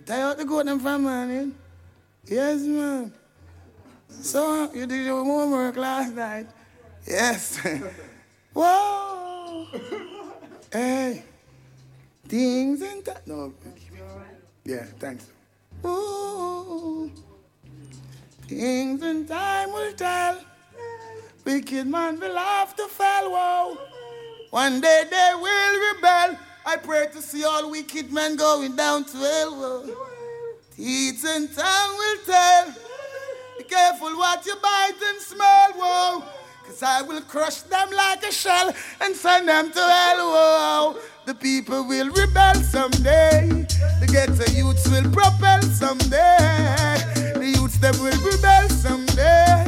Tie out the goat them from morning. Yes, man. So, you did your homework last night? Yes. Whoa. Hey. Things and that. No. Yeah, thanks. Ooh. Things in time will tell. Wicked man will have to fall. Whoa. One day they will rebel. I pray to see all wicked men going down to hell. Whoa. Teeth and tongue will tell. Be careful what you bite and smell. Whoa. Cause I will crush them like a shell and send them to hell. Whoa. The people will rebel someday. The ghetto youths will propel someday. The youths them will rebel someday.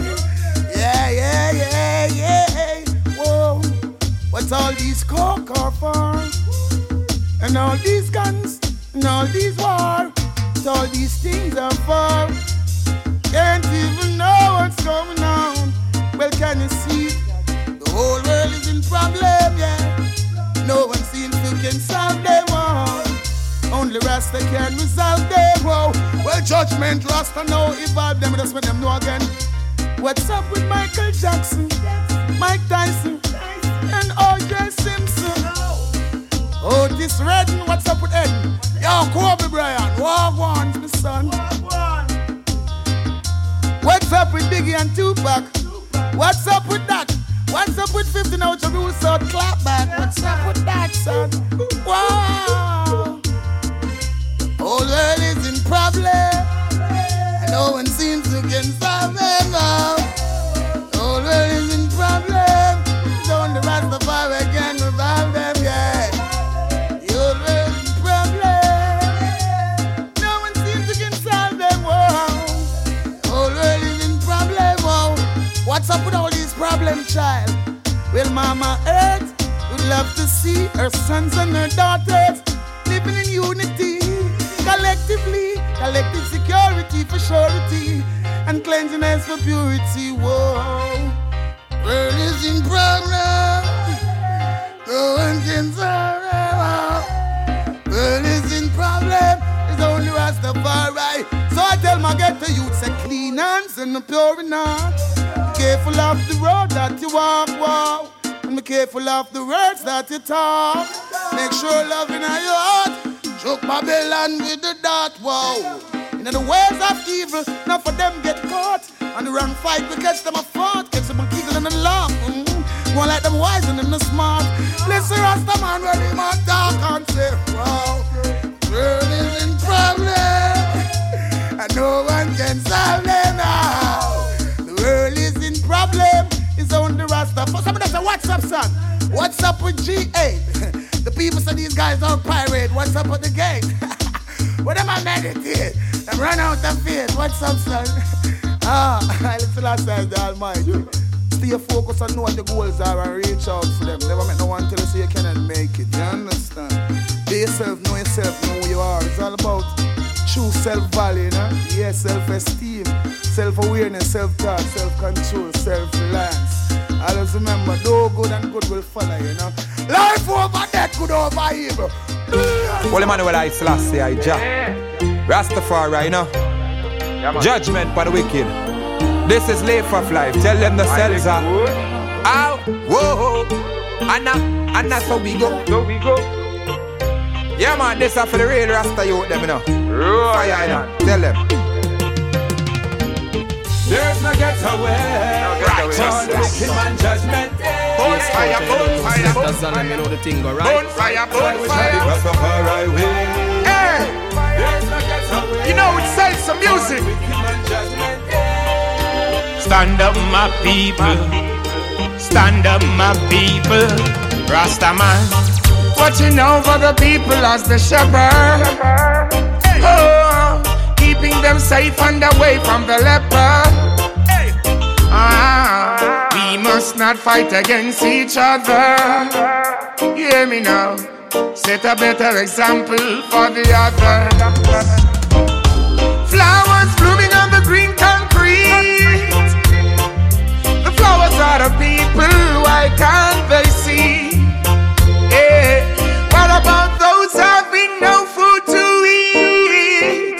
Yeah. Whoa. What's all these coke are for? And all these guns and all these war. What all these things are for? Can't even know what's going on. Well, can you see? The whole world is in problem, yeah. No one seems to can solve them all. Only Rasta can resolve them all. Well, judgment Rasta now evolve them. Just let them know again. What's up with Michael Jackson, Mike Tyson, and O.J. Simpson? Oh, this Redden, what's up with Eden? Yo, Kobe Bryant, walk on, my son. What's up with Biggie and Tupac? What's up with that? What's up with 15 out of Rule South clap back? What's up with that, son? Wow! Whole world is in problem, and no one seems to get solve them now. Whole world is in problem, don't the Rastafari can resolve them, yeah. The whole world is in problem, no one seems to get solve them, wow. Whole world is in problem, wow. What's up with all these problems, child? Well, Mama Earth would love to see her sons and her daughters living in unity, collectively, collective security for surety, and cleanliness for purity. Whoa, world is in problem, no one can solve it. World is in problem, it's only Rastafari. So I tell my ghetto youth, say clean hands and pure in heart. Careful of the road that you walk, wow. And be careful of the words that you talk. Make sure love in your heart. Choke Babylon with the dart, wow. In the ways of evil, not for them get caught. On the wrong fight, we catch them a fought. Catch them a giggle and a laugh. One like them wise and them smart. Listen, Rasta man, when him a talk and say, wow. World is in problem, and no one can solve them now. The world is in problem, it's only Rasta. For somebody say, what's up, son? What's up with G8? The people say these guys are pirate. What's up with the gang? What am I meditate? Them run out of faith. What's up, son? Listen, last time, the Almighty. Stay focused and know what the goals are and reach out for them. Never make no one tell you so you cannot make it. You understand? Be yourself, know who you are. It's all about true self-value, you know? Yeah, self-esteem, self-awareness, self-talk, self-control, self-reliance. Always remember, no good and good will follow, you know? Life over death, good over evil. Well, Emmanuel I Selassie, I Jah. Rastafari, you know? Judgment for the wicked. This is life of life. Tell them the cells are. Ow, whoa, and that's how we go. Yeah, man, this is for the real Rasta youth, them, you know. Fire, you know. Tell them. There's no getaway. Righteous wicked man judgment. Bonfire. That's all you know the thing go right. Bonfire. Rastafari way. Hey, There's no getaway. you know it sells some music. Wicked man judgment. Stand up, my people. Stand up, my people. Rasta man, watching over the people as the shepherd. Oh, keeping them safe and away from the leper. We must not fight against each other. You hear me now? Set a better example for the other. Flowers blooming on the green concrete. The flowers are the people, why can't they see? Yeah. What about those having no food to eat?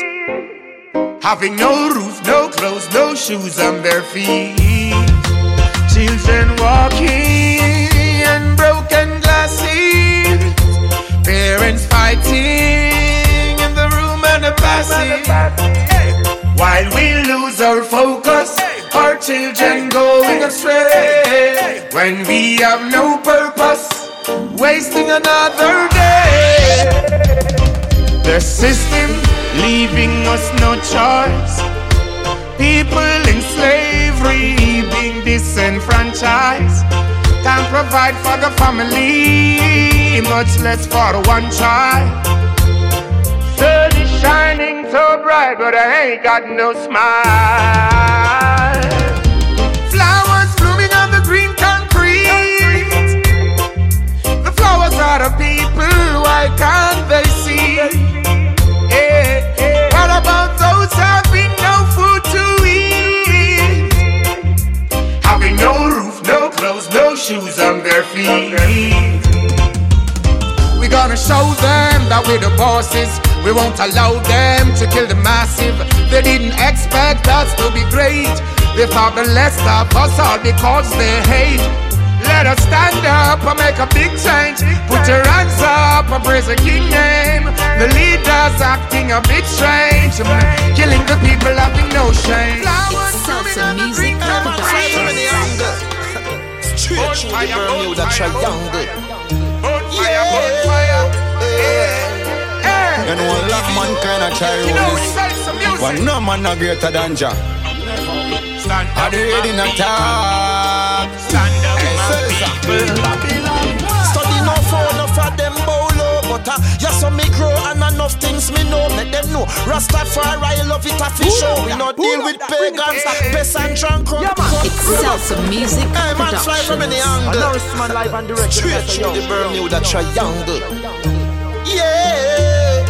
having no roof, no clothes, no shoes on their feet. Children walking in broken glasses, parents fighting in the room and the passage. While we lose our focus, our children going astray. When we have no purpose, wasting another day. The system leaving us no choice. People in slavery being disenfranchised. Can't provide for the family, much less for one child. Sun is shining so bright, but I ain't got no smile. Flowers blooming on the green concrete. The flowers are the people, why can't they see? What about those having no food to eat? Having no roof, no clothes, no shoes on their feet. We're gonna show them that we're the bosses. We won't allow them to kill the massive. They didn't expect us to be great. They thought the less of us all because they hate. Let us stand up and make a big change. Put your hands up and praise the King name. The leaders acting a bit strange, killing the people having no shame. It's salsa music production. Straight through the Bermuda Triangle. You know a lot of mankind a try this, but no man no greater than Jah. Are they ready to talk? Stand up, Study no for enough of them bolo, but yes, so me grow and enough things me know. Make them know Rastafari love it official. We not deal with pagans, pests and drunk. It's salsa music Hey man, fly from any angle. Live and direct. Straight through the Bermuda Triangle. Yeah.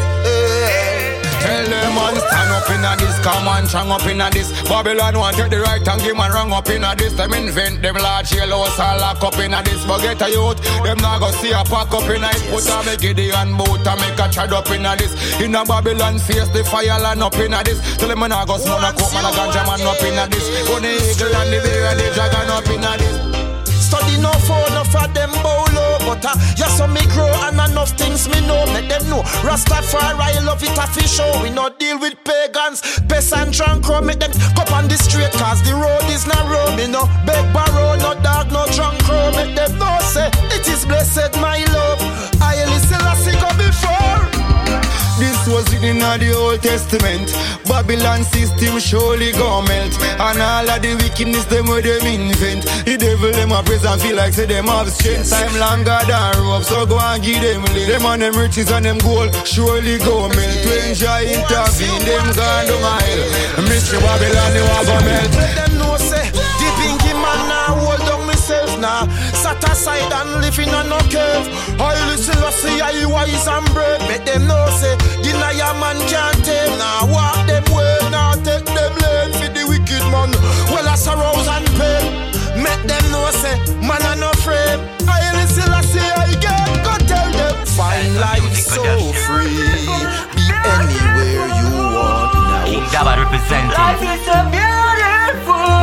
Tell them man stand up inna this, come on, strong up inna this. Babylon want take the right and give man wrong up inna this. Them invent them large yellows all lock up inna this. Forget a youth, them not go see a pack up inna it. Put a make Gideon boat and make a trad up inna this. Inna Babylon face the fire land up inna this. Tell them man a go smoke a coke man a ganja man up inna this. Go the eagle and the bear and the dragon up inna this. Study no for enough of them bolo, but yes, so me grow and enough things me know. Make them know Rastafari love it official. We not deal with pagans, pests and drunk. Make them come on the street cause the road is narrow. Me no beg borrow, no dog, no drunk crow. Make them know say it is blessed my love. I listen as I go before. This was written in the Old Testament. Babylon system surely go melt. And all of the wickedness them where them invent. The devil them a praise and feel like say them have strength. Time longer than rope, so go and give them live. Them and them riches and them gold surely go melt. To enjoy intervene, them gone down a hell. Mystery Babylon they want go melt. Let them know say the pinky man now hold on myself now. Sat aside and living on no cave. I listen to see I wise and brave. Let them know say deny a man can't tame. Now walk them way, now take them lane for the wicked man. Well I sorrows and pain. Make them know say man are no frame. I listen to see I get go tell them. Find life so free. Be anywhere you want now. King Dabba representing. Life is so beautiful.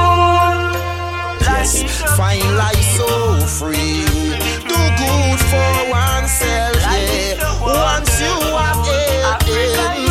Yes, find life so free. Do good for oneself, yeah. Once you have in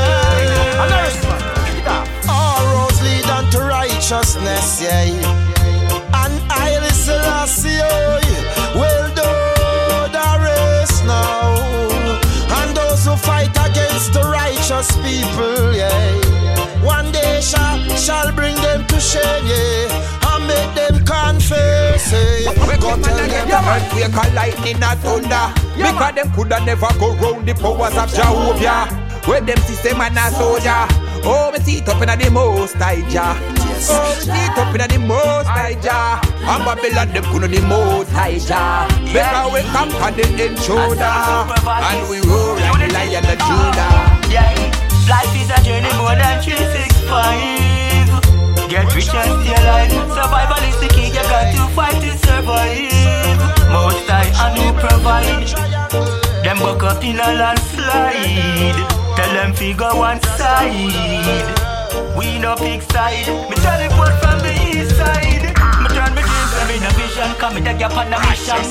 strength, all roads lead unto righteousness, yeah. And I listen, I see, well done the race now. And those who fight against the righteous people, yeah. One day shall bring them to shame, yeah. Make them confess, we go tell them earthquake and lightning and thunder. Because them coulda never go round the powers of Jehovah. When them system and a soldier. Oh, me see it up in the most high Jah. Oh, me see it up in the most high Jah. And Babylon them coulda the most high Jah. Because we come on the shoulder. And we roar like the Lion of Judah. Yeah, life is a journey more than 365. Get rich and stay alive. Survival is the key, you got to fight to survive. Most high and who provide. Them buck up in a landslide. Tell them figure one side. We no big side. Me teleport from the east side. Me turn me dreams and me no vision. Come me take you on a mission.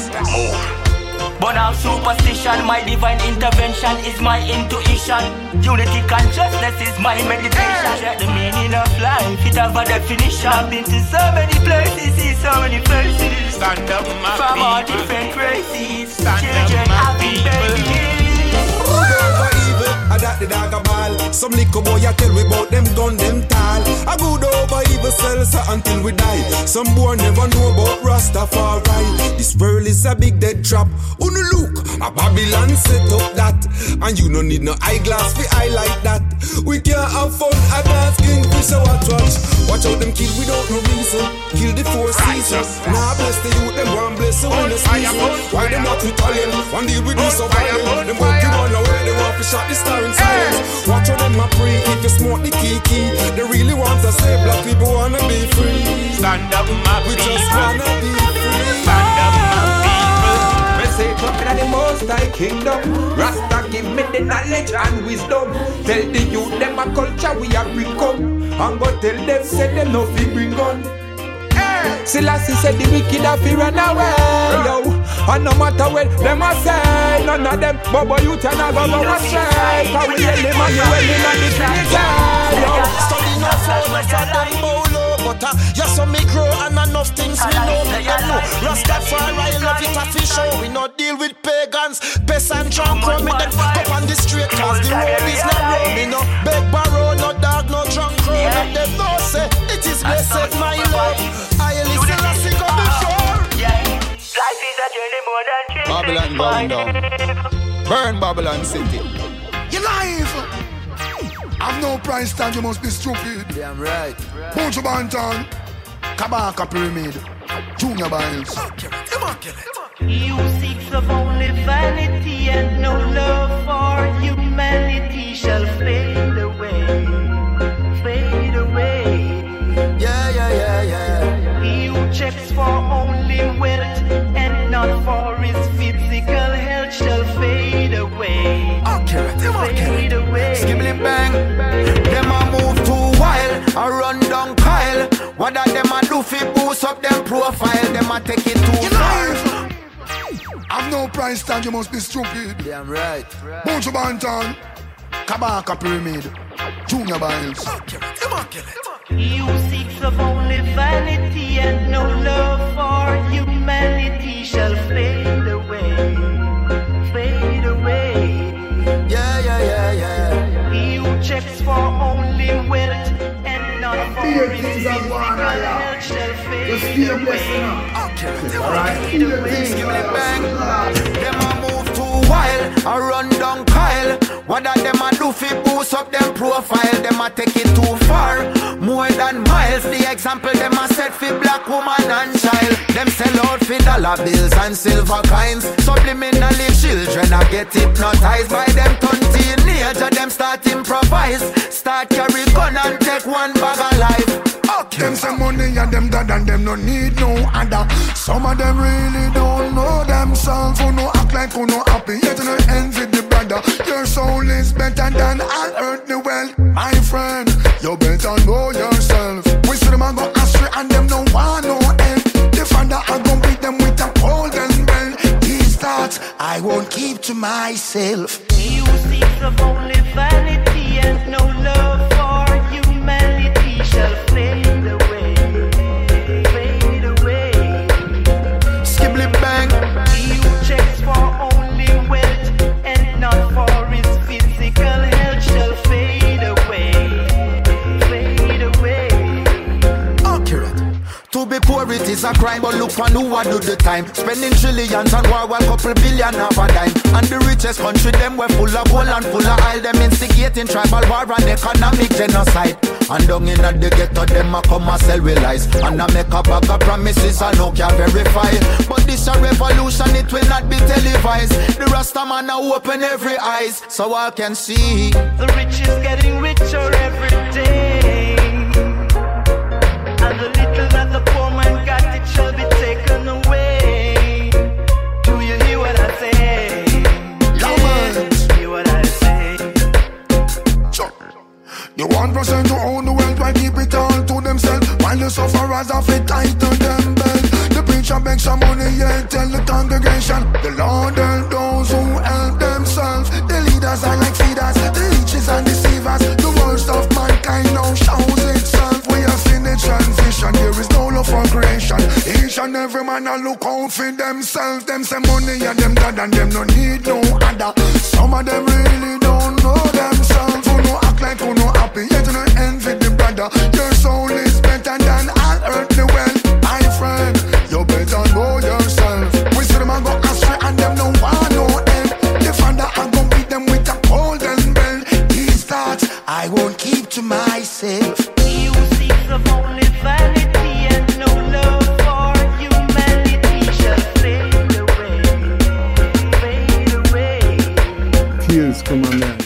But I'm superstition. My divine intervention is my intuition. Unity consciousness is my meditation. Check the meaning of life, it have a definition. I've been to so many places, see so many places. Stand up, my from people. all different races. Stand Children, up, my happy people. babies. Over evil, I got the dog a ball. Some little boy I tell we about them gun, them tall. I good over evil cells until we die. Some boy never know about Rastafari. This world is a big dead trap. Who no look, a Babylon set up that. And you no need no eyeglass for eye like that. We can't have fun, a dance kingfisher watch. Watch out them kill without no reason. Kill the four seasons. Now bless the youth, them one bless the winner season. Why them not Italian? One deal with this survival. Them working on the way, they want to shot the star in silence. Watch out them a pray if you smoke the kiki. They really want to say black people wanna be free. Stand up, my We people. just wanna be free. Stand up, my people. Me say talking of the Most High Kingdom. Rasta give me the knowledge and wisdom. Tell the youth them a culture we a bring come. And go tell them say them no fi bring gun. Selassie said the wicked have to run away, yo. And no matter what them a say, none of them bobo youth and a go astray. Cause we yell them and you well in a the Trinity, yo. Study no phone for them bolo. But you saw me grow and enough things me know. Rastafari love it a fish show. We no deal with pagans, pests and drunk. Me them up on the street cause the road is not road. Me no beg borrow, no dog, no drunk crow. Let them know say it is blessed my love. I listen to sing on before. Life is a journey more than Babylon going down. Burn Babylon City. Your life. I've no price tag, you must be stupid. Damn right. Bunch Banton, Kabaka Pyramid, Junior Biles. You seek of only vanity and no love for humanity shall fade away. Fade away. Yeah. He who checks for only wealth and not for his physical health shall fade away. Fade away. Skibbly bang. Them a move too wild, a run down Kyle. What that them a do fi boost up them profile? Them a take it too far. I've no price tag, you must be stupid. Damn right. Bunch Banton, Kabaka Pyramid, Junior Biles. He who seeks of only vanity and no love for humanity shall fade away. Fade away. Yeah. He who checks for only wealth and not for his physical health shall fade away. Skibbly bang. Them a move too wild, a run down Kyle. What that them a do fi boost up them profile? Them a take it too far, more than miles. The example them a set fi black woman and child. Them sell out fi dollar bills and silver coins. Subliminally children a get hypnotized by them turn teenager. Them start improvise, start carry gun and take one bag of life. Them some money and them dad and them no need no other. Some of them really don't know themselves. Who no act like who no happy, yet no envy the brother. Your soul is better than all earthly wealth. My friend, you better know yourself. We see them a go astray and them no want no end. The father I gon' beat them with a golden bell. These thoughts I won't keep to myself. He who seeks of only vanity and no love for humanity shall fade away. Fade away. Skibbly bang. He who checks for only wealth and not for his physical health shall fade away. Fade away. Accurate. To be poor it is a crime, but look on who a do the time. Spending trillions on war, one couple billion of a dime. And the richest country, them were full of gold and full of oil. Them instigating tribal war and economic genocide. And down in the ghetto, them a come and sell with lies. And I make a bag of promises I no can verify. But this a revolution, it will not be televised. The Rasta man a open every eyes, so I can see. The rich is getting richer every day. And the little that the poor man got, it shall be taken away. Do you hear what I say? Yeah, man. Hear what I say? The 1% who own the wealth, why keep it all to themselves? While the sufferers have it tighten them belt. The preacher begs some money, yeah, tell the congregation. The Lord help those who help themselves. The leaders are like feeders, the leeches and deceivers. The worst of mankind now shows itself. We have seen the transition, there is no love for creation. Each and every man a look out for themselves. Them say money and them dad and them no need no other. Some of them really don't know themselves. Who no act like who no happy, yet no envy the brother. Your soul is better than all earthly wealth. My friend, you better know yourself. We see them a go astray and them no want no help. The father a go beat them with a golden bell. These thoughts I won't keep to myself. He who seeks of only vanity and no love for humanity shall fade away, fade away. Tears come on, man.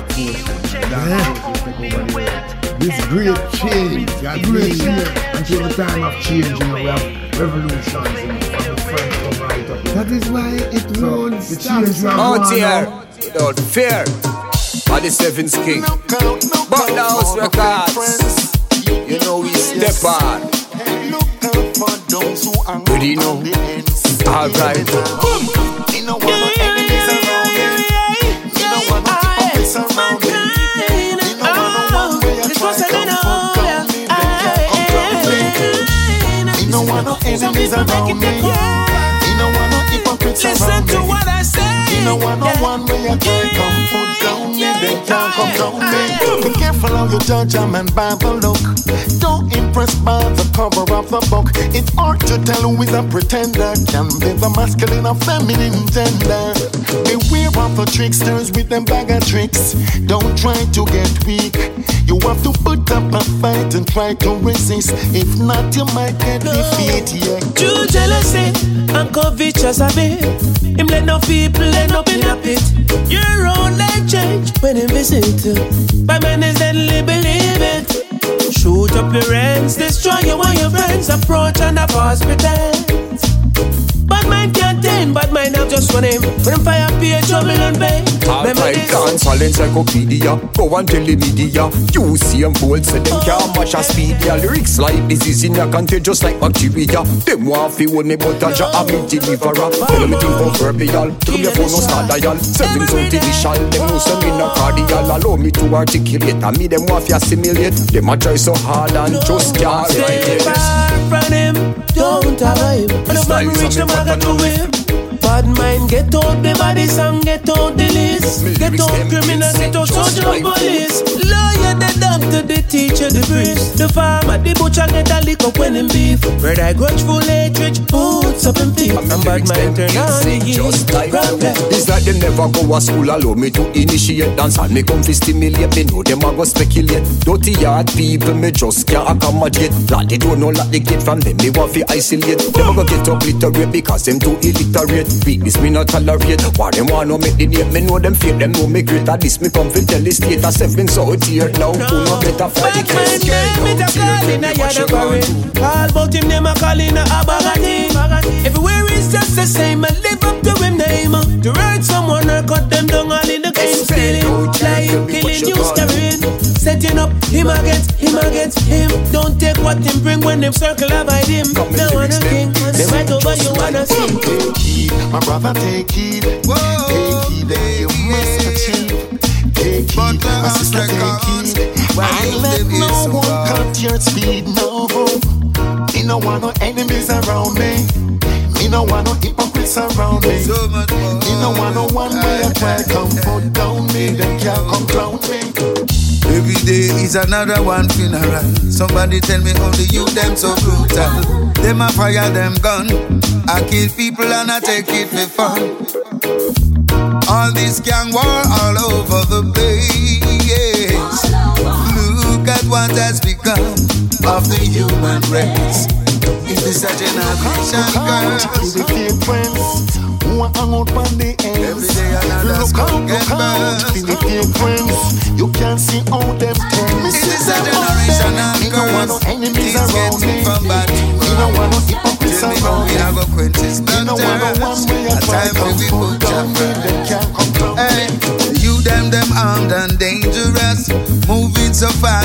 This great change, that great change. Until the time of change, you know, we have revolutions, you know, from the French come right up. That is why it won't stop. Out here, without fear, are the Seventh King. But the House Records, you know we step on. But you know, alright. You know what my enemies around me. You know what my hypocrites around me. You know what no one way I try to come down me. You know what no enemies around me. You know what no hypocrites around me. Listen to what I say. You know what no one way I try to come down me. They can't come down me. Be careful how you judge a man by the look. Don't impress by the cover of the book. It's hard to tell who is a pretender. Can be the masculine or feminine gender. Beware of the tricksters with them bag of tricks. Don't try to get weak. You have to put up a fight and try to resist. If not, you might get defeated. True jealousy and covetous a bit. Him let no people end up in a pit. Your own life change when him visit. By man is deadly, believe it. Shoot up your ends, destroy you and your friends. Approach and a pause pretense. Bad mind can't tame, bad mind have just one aim. When fire pay, trouble and pain. Alright, can't silence encyclopedia. Go and tell the media. You see them bold, so them can't match a speed. Yeah, lyrics like disease in your contagious like bacteria. Them want fi hold me but a jar of me deliverer. Tell me think of verbial. Tell me phone no start dial. 7 so initial. Them know some in a cardial. Allow me to articulate. And me them want fi assimilate. Them a try so hard and just can't write it. Stay far from him, don't avoid him. When the man reach the maga to him. Bad mind, get out the body song, get out the list. Get out criminal, get out social police. Lawyer, the doctor, the teacher, the priest. The farmer, the butcher, get a lick up when him beef. Red eye grudgeful hatred, boots up in thief. And bad mind turn on the heat. It's like them never go to school, allow me to initiate dance. And me come to stimulate, me know them a go speculate. Dirty yard people, me just can't accommodate. Like they don't know like they get from them, me want to isolate. Them a go get obliterate because them too illiterate. Weakness me not tolerate. Why them wanna make the name? Me know them fake, them know me great. At this me come to tell the state of 7 so here now. Who no better for the case? Me a call in a yard of parade. All about him, them a call in a abagati. Everywhere is just the same. I live up to him name. To hurt someone or cut them down all in the game. Stealing, lying, killing, you scaring. Setting up him against him. Don't take what him bring when them circle avoid him. Now wanna king, they right over you wanna sing. Take heed, my brother, take heed. Take heed that you must achieve. Take heed, my sister, take heed. And let no one cut your speed, no. Me no want no enemies around me. Me no want no hypocrites around me. Me no want no one way I try come put down me. They can't come clown me. Every day is another one funeral. Somebody tell me how the youth them so brutal. Them a fire them gun. I kill people and I take it for fun. All this gang war all over the place. Look at what has become of the human race. Is this a generation, girls? Who are hung out on the ends? Every day another skull get burned. Philippine friends, you can't see all them things. Is this a generation of girls? Enemies around me. From bad to you don't want no hypocrites around me. We have a quenches. You don't want no one way I try to put down me. They can't come down me. You them armed and dangerous, moving so fast.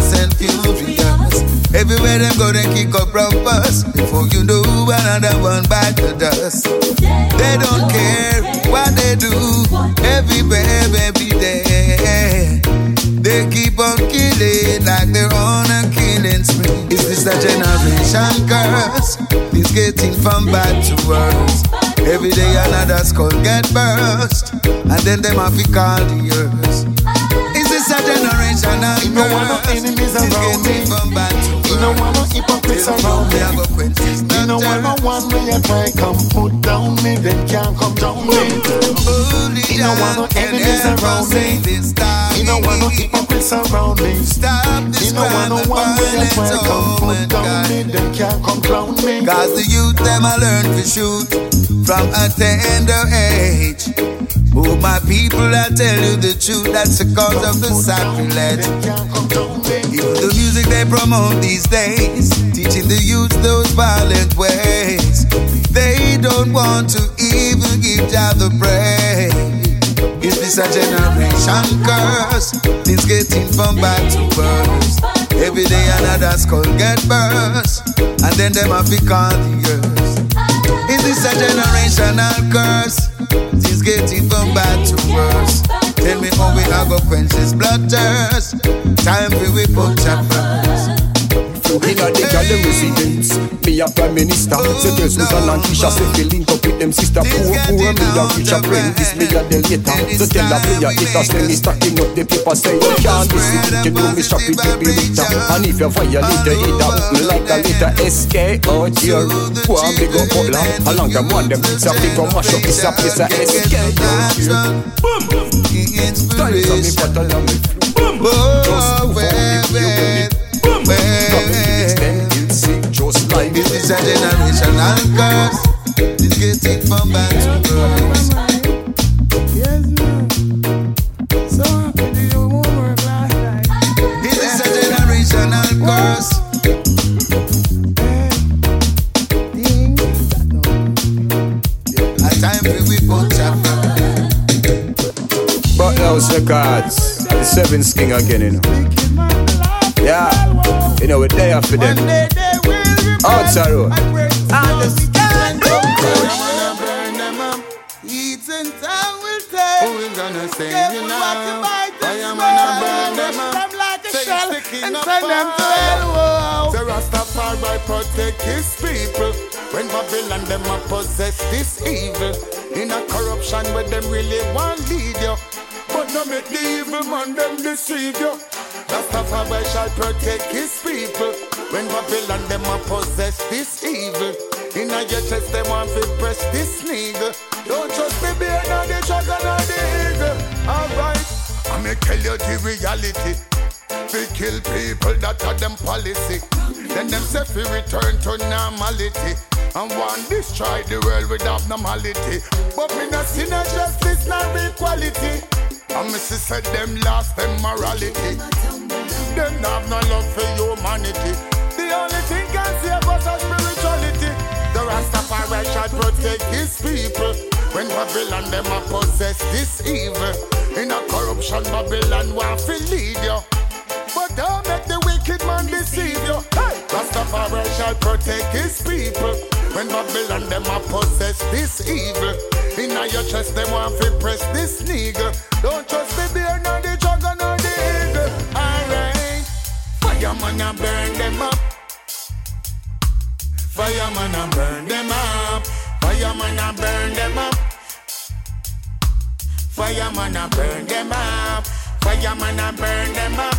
them go and kick up rumpus. Before you know another one back to dust. They don't care what they do. Everywhere, every day. They keep on killing like they're on a killing spree. Is this a generation curse? It's getting from bad to worse. Every day another skull get burst, and then them have to call the yours. Is this a generational curse? You don't want no enemies around me. You don't want no hypocrites around me. You don't want no one when you try come put down me, then can't come down me. You don't want no enemies around me. You don't want no hypocrites around me. You don't want no one when you try come put down me, then can't come down me. Cause the youth them a learn to shoot from a tender age. Oh my people, I tell you the truth, that's the cause of the sacrilege. Even the music they promote these days, teaching the youth those violent ways. They don't want to even give Jah the praise. Is this a generation curse? It's getting from bad to worse. Every day another skull get burst, and then them have to call the yours. Is this a generational curse? It's getting from bad to worse. Tell me how we are gonna quench this blood thirst. Time for we put Jah first. Inna the gala residence, me a prime minister. Say girls who's a Lancashire, say fi link up with them sister. Poor me a rich apprentice, me a the later. So tell a player haters, tell me stacking up the paper. Say you can't miss it, you know me shop it every liter. And if you violate the hater, me like a later. SK out here, go and big up Butler. Along the one them it's a big up mash up, it's a place a SK out here. Boom, stories of me better than me. Boom, just move on, just like this is a generational curse. It's getting from bad to worse. Yes, man. So happy to do homework last night. This is a generational curse. A time for we put Jah first. But those records, the 7 King again, you know. Yeah, you know we're there for them. Outside road. Understand. Eats and time will take. Who is gonna say you now? Fire man burn them up like a shell and send them to hell. The Rastafari protect his people. When Babylon them a possess this evil. In a corruption where them really want lead you. But no make the evil man them deceive you. Rastafari shall protect his people. When Babylon them a possess this evil. In a your chest them want to press this nigga. Don't trust the bear nor the dragon or the eagle. Alright, I may tell you the reality. We kill people that are them policy. Then them say we return to normality. And want destroy the world with abnormality. But me not see no justice nor equality. And me see said them lost them morality. Them have no love for humanity. The only thing can save us is spirituality. The Rastafari shall protect his people. When Babylon them a possess this evil. In a corruption Babylon want to lead you. But don't make the wicked man deceive you. Hey! Rastafari shall protect his people. When Babylon them a possess this evil. In your chest them want to press this nigga. Don't trust the bear nor the dragon nor the eagle. Alright. Fireman a burn them up. Fireman a burn them up. Fireman a burn them up. Fireman a burn them up. Fireman a burn them up.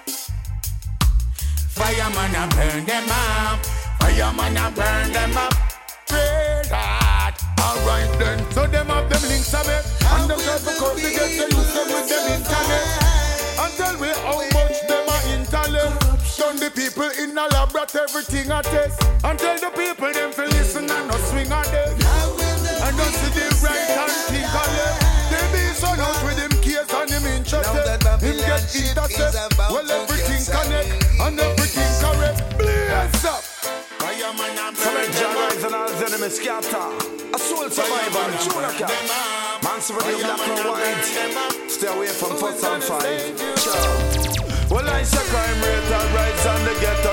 Fireman a burn them up. Fireman a burn them up. Red hot. Alright then. So them have them links of it. And them try to cause to get the use them with them internet. And tell me how much them are intellect. Turn the people in a laboratory, everything a test. And tell the people them to listen and not swing at them. And don't see the right and think of them. They be so out with him case and him interested. Him get intercept. Well everything connect and everything correct. Blaze up. Some Jaguars and all the enemies scatter. A soul survivor, Junaka. Man, so the black and white. Stay away from 4 and 5. Well, I say crime rate a rise and the ghetto running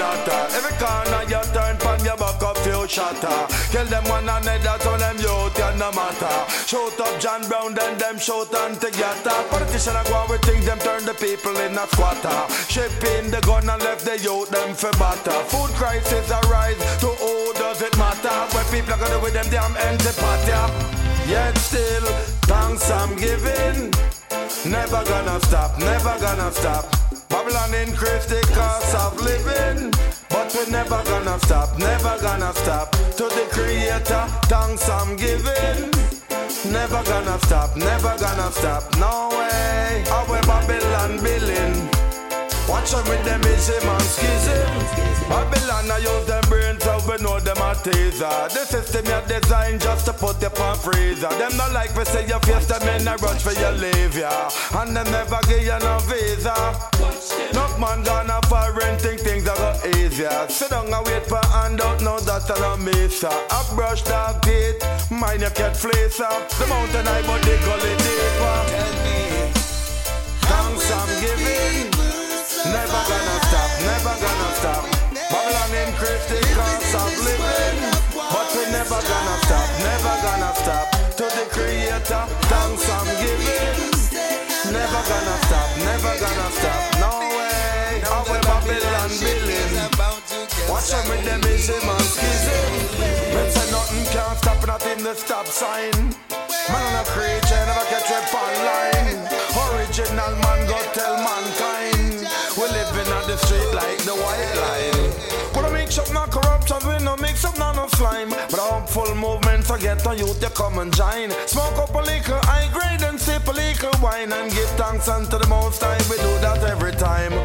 natter. Every corner you turn pan your back up few shatter. Kill them one another so them youth and no matter. Shout up John Brown then them shout and together. Politician a go with things them turn the people in a squatter. Shipping the gun and left the youth them for batter. Food crisis arise, to who does it matter? When people are gonna with them damn empty pot, yeah. Yet still, thanks I'm giving. Never gonna stop, never gonna stop. Babylon increase the cost of living, but we never gonna stop, never gonna stop. To the Creator, thanks I'm giving. Never gonna stop, never gonna stop. No way, our Babylon billing. Watch out with them ism and schism. Babylon I use them brains so we know them a teaser. The system you designed just to put you on freezer. Them not like we say your face, them in a rush for your leave ya. And them never give you no visa. Enough man gonna foreign think things are go easier. Sit down and wait for handout, no that's a mesa. I brush dog teeth, mine you get fleecer. The mountain I but they gully deeper. Tell me, thanks I'm giving. Never gonna stop, never gonna stop. Babylon increase the cost of living, but we never gonna stop, never gonna stop. To the Creator, thanks I'm giving. Never gonna stop, never gonna stop. No way, our Babylon billing. Watch out with them ism and schism. Men say nothing can't stop, nothing the stop sign. Man on a creature, never catch up online. Original man go tell mankind. We living on the street like the white line. We don't mix up no corruption, we no mix up no slime. But a hopeful movement, forget on youth, you come and join. Smoke up a little high grade and sip a little wine. And give thanks unto the Most High, we do that every time.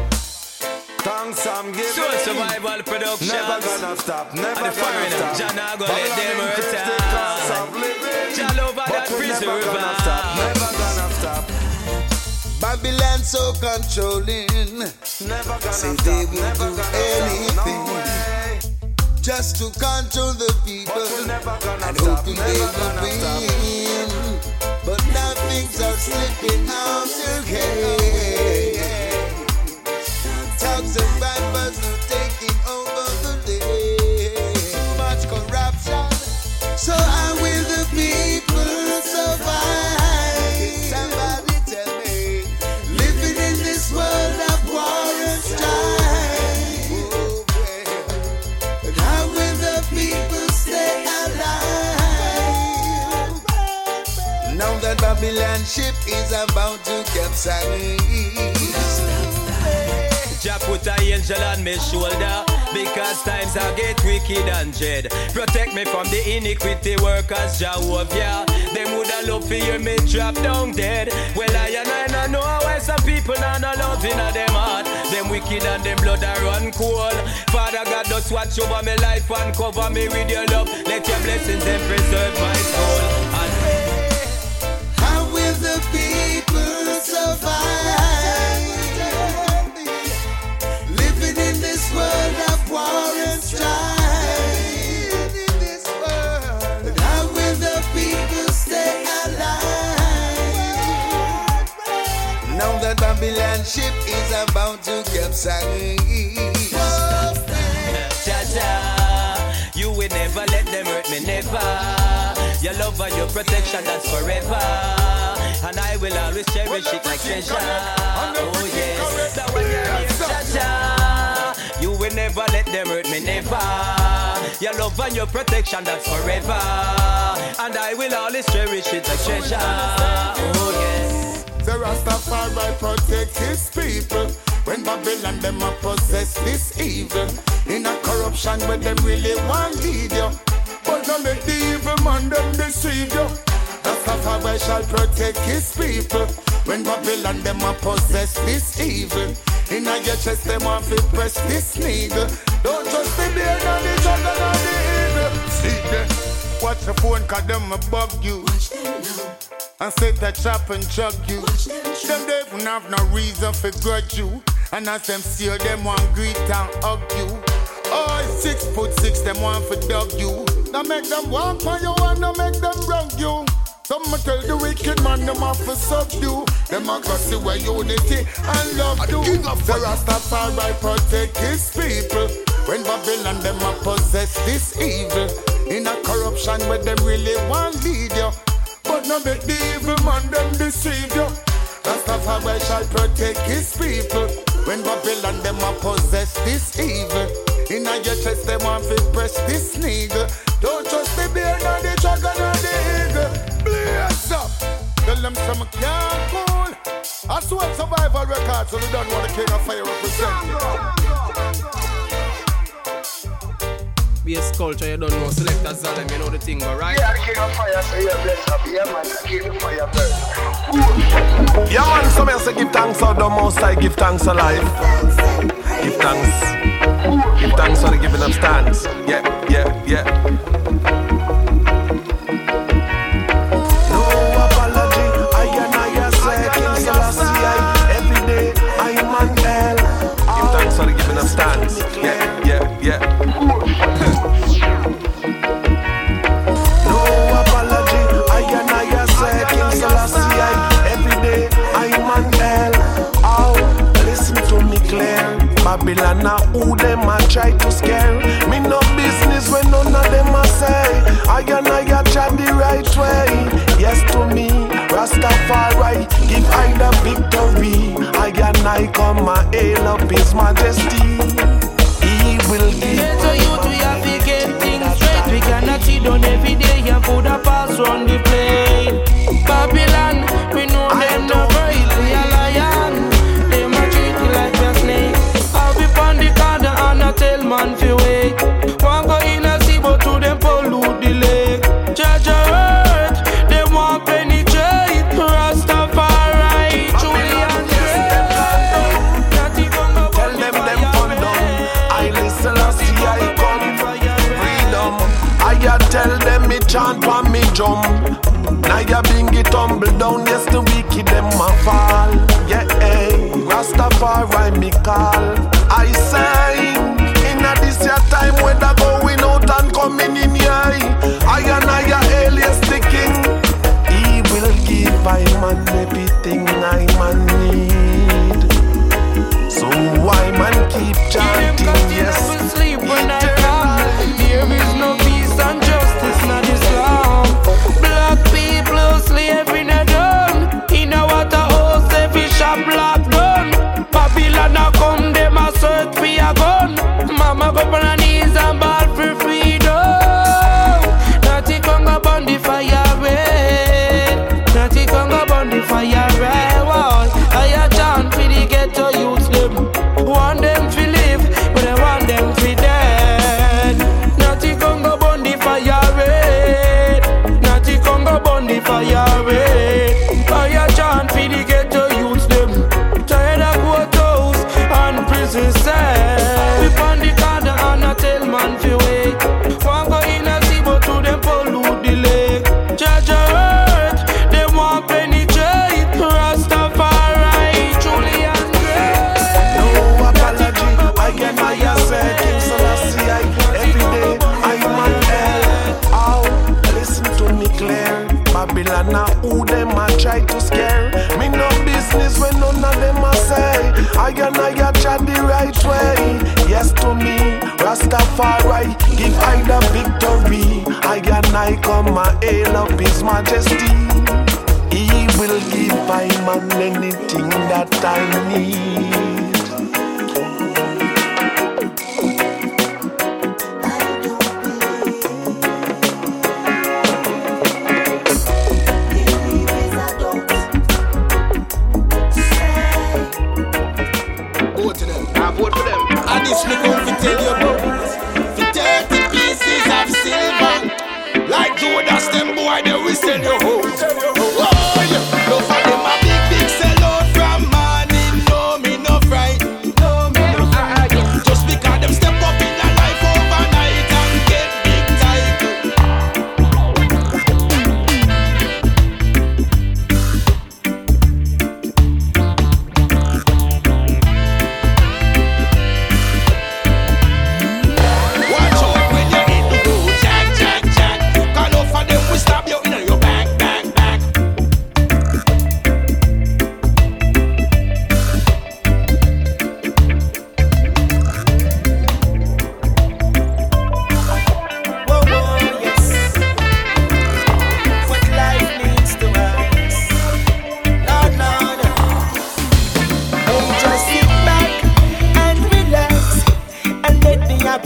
Thanks I'm giving. So Survival Productions. Never gonna stop, never and the gonna stop. John I go let them return. John over that prison river. Never gonna stop. Babylon so controlling. Never gonna say stop, they will never do gonna anything stop, just to control the people and hoping they will win. But now things are slipping out their hand. Talks and vipers are taking over the day. Much corruption. So how will the people survive? Somebody tell me. Living in this world of war and strife. And how will the people stay alive? Now that Babylon ship is about to capsize. Jah put a angel on my shoulder, because times I get wicked and dread. Protect me from the iniquity workers, Jehovah. Them woulda love to hear me drop down dead. Well I know why some people not no love in them heart. Them wicked and them blood a run cold. Father God, just watch over my life and cover me with your love. Let your blessings then preserve my soul. And how will the people survive? In this world of war and strife. And how will the people stay alive? Now that Babylon ship is about to capsize. Jah, you will never let them hurt me, never. Your love and your protection, that's forever. And I will always cherish it like treasure. Oh yes, that one you're Jah. You will never let them hurt me, never. Your love and your protection, that's forever. And I will always cherish it like treasure. Oh yes. The Rastafari protect his people. When Babylon them a possess this evil. In a corruption where them really want lead you. But don't let the evil man them deceive you. Rastafari shall protect his people. When Babylon them a possess this evil. In a your chest them want to press this needle. Don't trust the beard and the jungle and the evil. See them. Watch your phone cause them a bug you. And set a trap and drug you. Them they even have no reason for grudge you. And as them see you, them want greet and hug you. Oh, 6'6", them want for dog you. Now make them walk on you and now make them rug you. Some tell the wicked man them have to subdue. Them a go see where unity and love do. The Rastafari protect his people. When Babylon them a possess this evil, in a corruption where them really want lead you, but no make the evil man them deceive you. Rastafari shall protect his people. When Babylon them a possess this evil, in a your chest them want to press this needle. Don't trust the bear nor the dragon nor the eagle. Blaze up, tell them some can't cool. I swear survival record, so we don't want the king of fire represent. Bass culture, you don't know. Selector Zalem, you know the thing, but right? Yeah, the king of fire, so you're blessed up. Yeah, man, the king of fire burn. Yeah, man, some say give thanks for the most I give thanks alive. Give thanks. Give thanks for the giving up stands. Yeah. No apology, I say King Selassie. Every day I am on hell. Give thanks for the giving up stands. Yeah. No apology, I say King Selassie. Every day I am on hell. Oh, listen to me clear. Babylon now who them a try to scare. Me no business when none of them a say. I try the right way. Yes to me, Rastafari, give I the victory. I come and hail up His Majesty. He will give. So you to have to get things straight. We cannot sit down every day and put a pass on the plane. Babylon, we know them no right. We are lion. Them a treat you like a snake. I'll be on the corner and I tell man fi wait. One go in a sea but to them pollute the lake. Judge a earth, they want penetrate. Rastafari, Julian tell them fun done. I listen and see I come. Freedom, I tell them me chant and me jump. Now you bring it tumble down, yes the wicked them a fall. Yeah, Rastafari me call. I sing in a this year time when they going out and coming in here. I alias the king. He will give I man everything I man need. So why man keep chanting? Yes, sleep when I come. There is no peace and justice, not Islam. Black people slavery in done. In a water house, they fish a black gun. Babylon a come, them a search for a gun. Mama go on her knees and ball for freedom. Natty Congo burn the fire red. Natty Congo burn the fire red. Wall, I a chant for the ghetto youths them. Want them to live, but I want them to dead. Natty Congo burn the fire red. Natty Congo burn the fire red. I a chant for the ghetto youths them. Tired of courthouse and prison cell. We on the corner and I tell man fi wait. One go in a sea but to them pollute the lake. Judge a earth, they want penetrate. Rastafari, Julian Gray. No apology, I say King Selassie. Every day I'm on hell. Oh, listen to me clear. Babylon now who them a try to scare. Me no business when none of them a say. I try the right way. Yes to me, Rastafari, give I the victory. I come and hail up His Majesty. He will give I man anything that I need. This me come to tell you about 30 pieces of silver. Like Judas, them boy, they will sell you home. Oh, yeah. No for them a big sell out from morning. No, me no fright. No, me no fright. Just because them step up in a life overnight and get big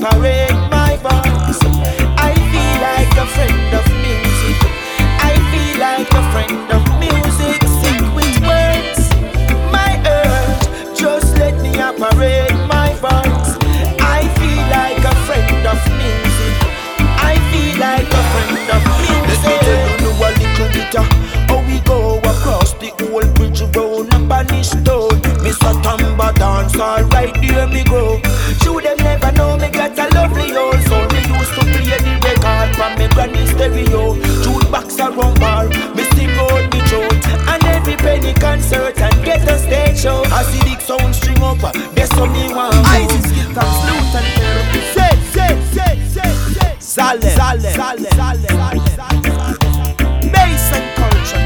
parade my voice. I feel like a friend of music. I feel like a friend of music. Sick with words, my urge. Just let me parade my voice. I feel like a friend of music. I feel like a friend of music. Let me tell you a little bit how we go across the old bridge road and banish stone. Mr. Tamba dance, alright, there me go. Should them never know me got a lovely old soul. Me used to play the record from me granny stereo. Jukebox around bar, me sing out me throat. And every penny concert and get a stage show. I see big sound string up, there's some me want. Isis guitar, flute and therapy. Say. Salem. Bass and culture.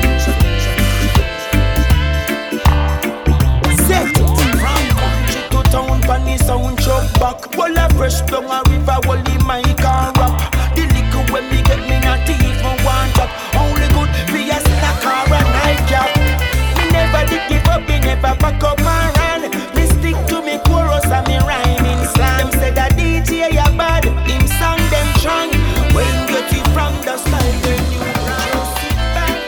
Set it from country to town, funny sound truck back. Well, I fresh down a river, well, the mic and rap. The liquor when me get me not even one drop. Only good be a snack or a nightcap. Me never did give up, me never back up and run. Me stick to me chorus and me rhyming slam. Them say that DJ ya bad, him song them strong. When get it from the style, then you just sit back.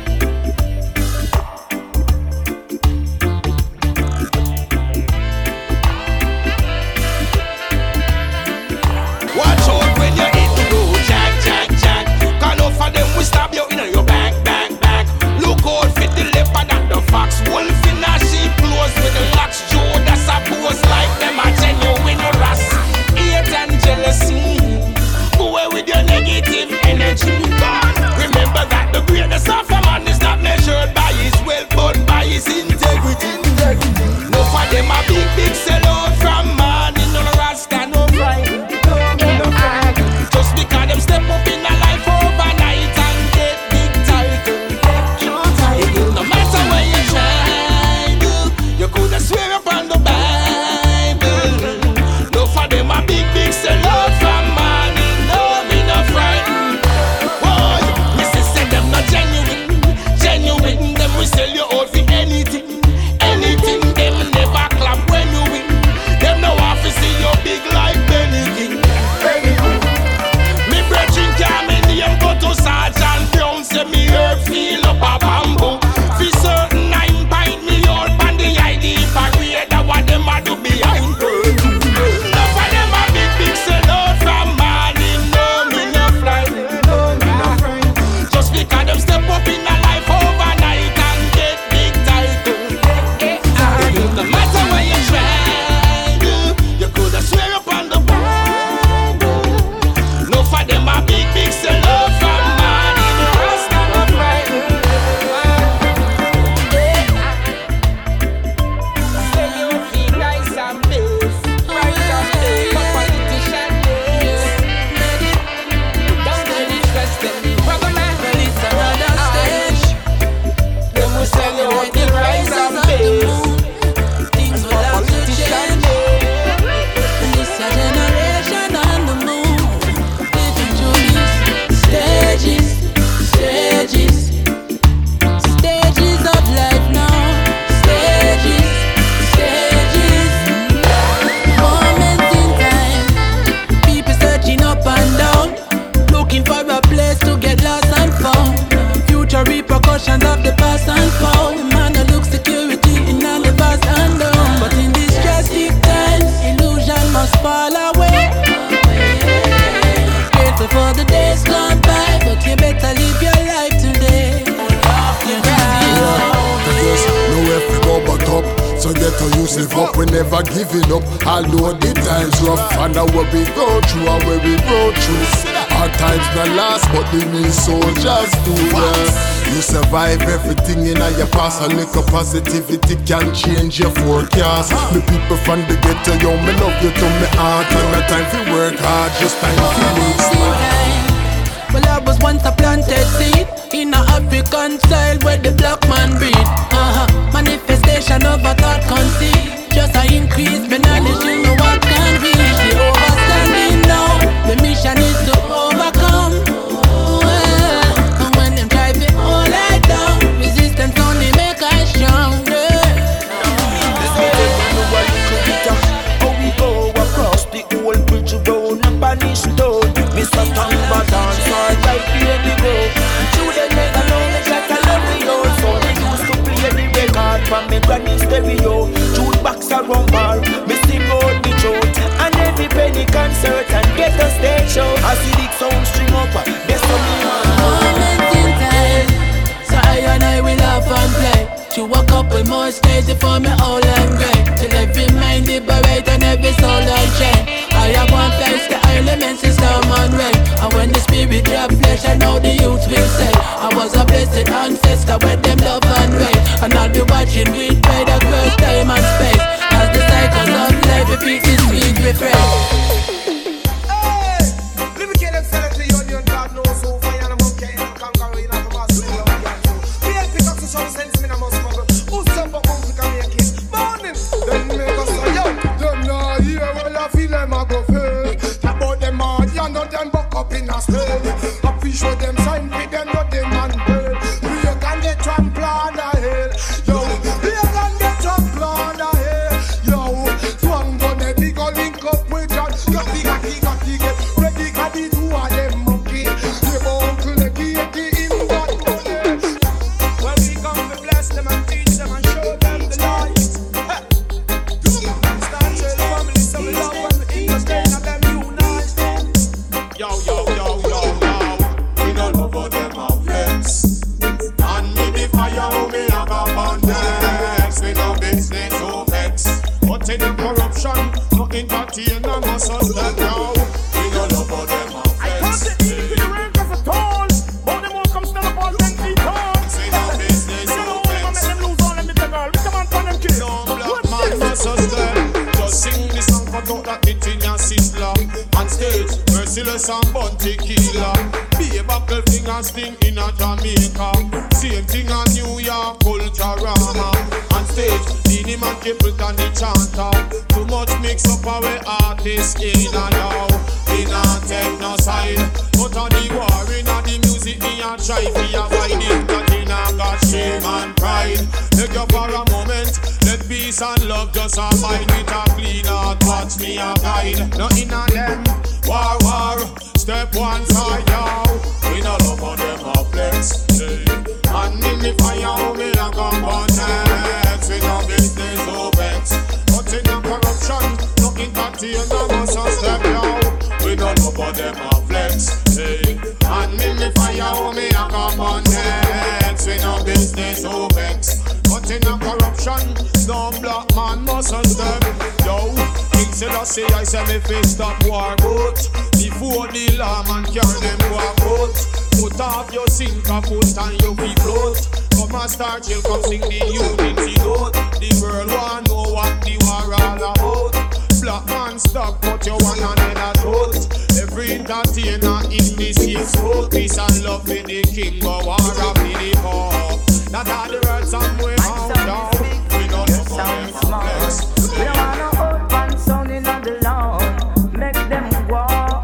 Watch out when you hit the road, jack. Cause enough of them will stab you in your back. Look out for the leopard and the fox. Wolf in a sheep clothes with the locks. Joe, that's a pose like them a genuine rust. Hate and jealousy. Go away with your negative energy. Remember that the greatness of a man is not measured by his wealth but by his integrity. No for them a big sellout from man in no rasta no pride. Just because them step up in a life overnight and get big title. No matter where you try, you coulda swear upon the Bible. No for them a big sellout from man in no me no frightened. Boy, me say them not genuine. Them we sell you out for anything. Them never clap when you win. Them no want to see you big like Benny King. Me brethren come in here and go to Sergeant Brown. Say me herb feel up a bamboo. For certain 9 pint me out on the ID parade. That what them a do behind curtain. Enough of them a big sellout from morning. No me no fly. Just because them step up in a life overnight and get big title. No matter where you try, you coulda swear upon the Bible. No for them a big sellout from man in the rest of the pride. Say you feel nice and base, right and base, but politician days. Don't let it stress them. Brother man, well it's another stage. Them will sell you out the rise and base. Stages of life now. Stages. Moments in time. People searching up and down, looking for a place to get lost and found. Future repercussions of the past and found. The man that looks security in all the past and down. But in these drastic times, illusion must fall away. Grateful for the days gone by, but you better live your life today. No way to go back up, so get to use live up. We never giving up, although the times rough. And now where we go through and where we go through. Our times not last, but the real soldiers do. You survive everything in your past. A little positivity can change your forecast. The people from the ghetto, yo, me love you to me heart. And no time for work hard, just time for me smart. Well, I was once a planted seed in a African style where the black man breed. Manifestation of a thought conceived. Just a increase my knowledge, you know what can reach. The overstanding now, the mission is to overcome. And when them try to hold it down, resistance only make us stronger. How we go across the old bridge road for me all and great. Till every mind liberate and every soul unchained. I have one place, the elements is storm and rain. And when the spirit drop flesh, I know the youth will say I was a blessed ancestor with them love and rain. And I'll be watching with pride across time and space. As the cycles of life repeat this sweet refrain. Show them sign, with them not them man bird. We can get trampled on the hill, yo. We can get trampled on the hill, yo. Swang on the big link up with John. Got the get ready, got the two of them monkey. They uncle the key in that money. When we come to bless them and teach them and show them the light. Start showing family some love and we understand and them unite. Yo. Any corruption, no entertain, no suspect now. We don't know about them. I can't see the rank as a toll, but them all come stand up all 10 feet tall. Say no business, no offense. Make them lose all them little girl. We come on for them kids. No black man, no suspect. Just sing this song for those that it in your sizzler. On stage, Merciless and Bun Tequila. Be a buckle finger sting in a Jamaica. Same thing on New York, Culturama. On stage, Dini Man Capleton the chanter. Too much mix up our artists in and out. We not take no side. But on the war in the music, me a try to avoid it. That in a got shame and pride. Take you for a moment. Let peace and love just abide with a clean heart. Watch me a guide. Nothing on them. War. Step one side, yo. We no love on them a flex. And in the fire, me a come on next. We no business, no vex. But in the corruption, no entertain, no must step, yo. We no love on them a flex. And in the fire, me a come on next. We no business, no vex. But in the corruption, no black man must step, yo. King Selassie, I say me face stop war boat. Before the lawman carry them to a boat. Put off your sinker foot and you be float. Come and start chill, come sing the unity note. The world want know what the war all about. Black man stop, put your one hand in a throat. Every entertainer in this year's road. Peace and love for the king, but war up in the poor. That are the words somewhere out down. We don't know for them complex. We don't want no old man sounding on the lawn. Make them go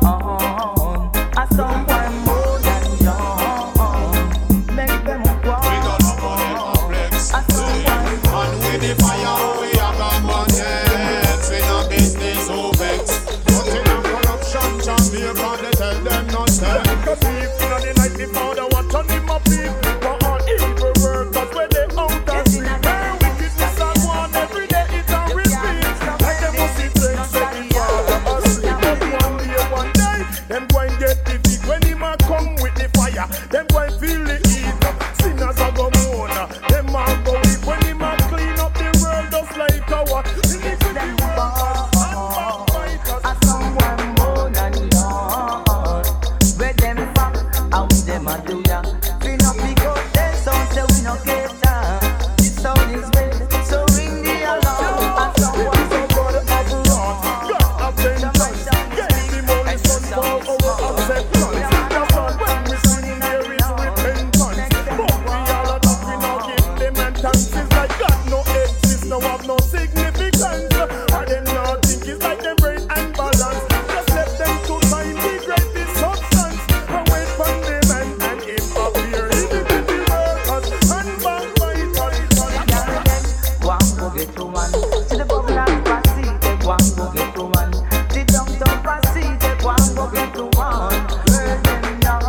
on. I someone more than young. Make them go on. We don't know for them complex. And with the fire we have a money. We no business so vex. But in a corruption Jamaica they tell them no step. Cause if in the night before they want to name a people. But all evil workers where they out of sleep. Their wickedness and one every day it a repeat. Like them must see things say the father asleep. But one day them go and get the big. When him a come with the fire, them go and feel the heat. Sinners a go moan, them a go weep. When him a clean up the world just like our iniquity workers and backbiters. I someone more than young. Where them from? How them a do ya? We no pick up them sound, so we no get down. This sound is red, so ring the alarm. I someone more than young. God of vengeance, get the money from for our acceptance. That's all when we sing there is repentance. But we all are not, we now give them entrance. It's like God no exist, no have no significance. And them now think it's like them brain and balance. Just let them to time degrade the substance. And wait for them and him appear. Iniquity workers and backbiters. One go get to one. To the bubble and passy, take one go get to one. The downtown passy, take one go get to one. Hear them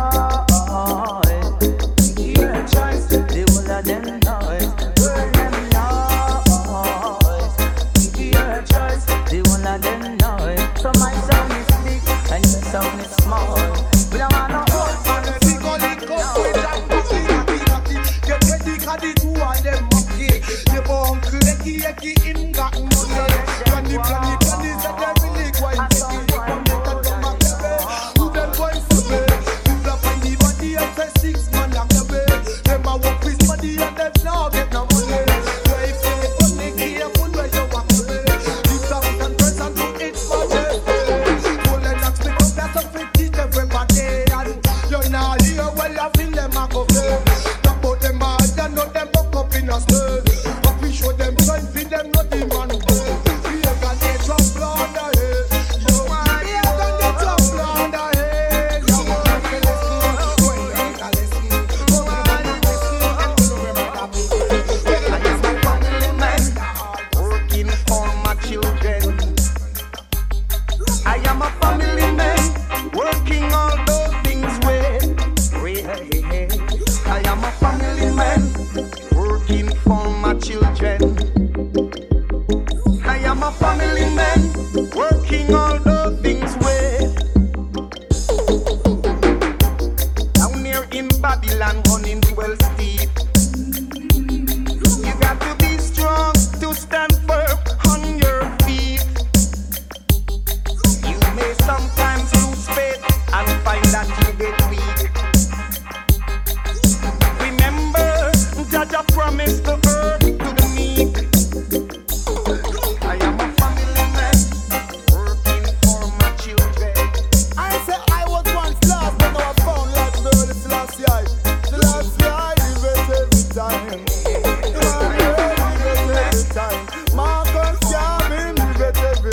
noise, hear choice. The whole of them noise, hear them noise, hear choice. The whole of them noise. So my sound is big and your sound is small. We don't want no old man. Get ready, cause the two of them monkey. The uncle, the key,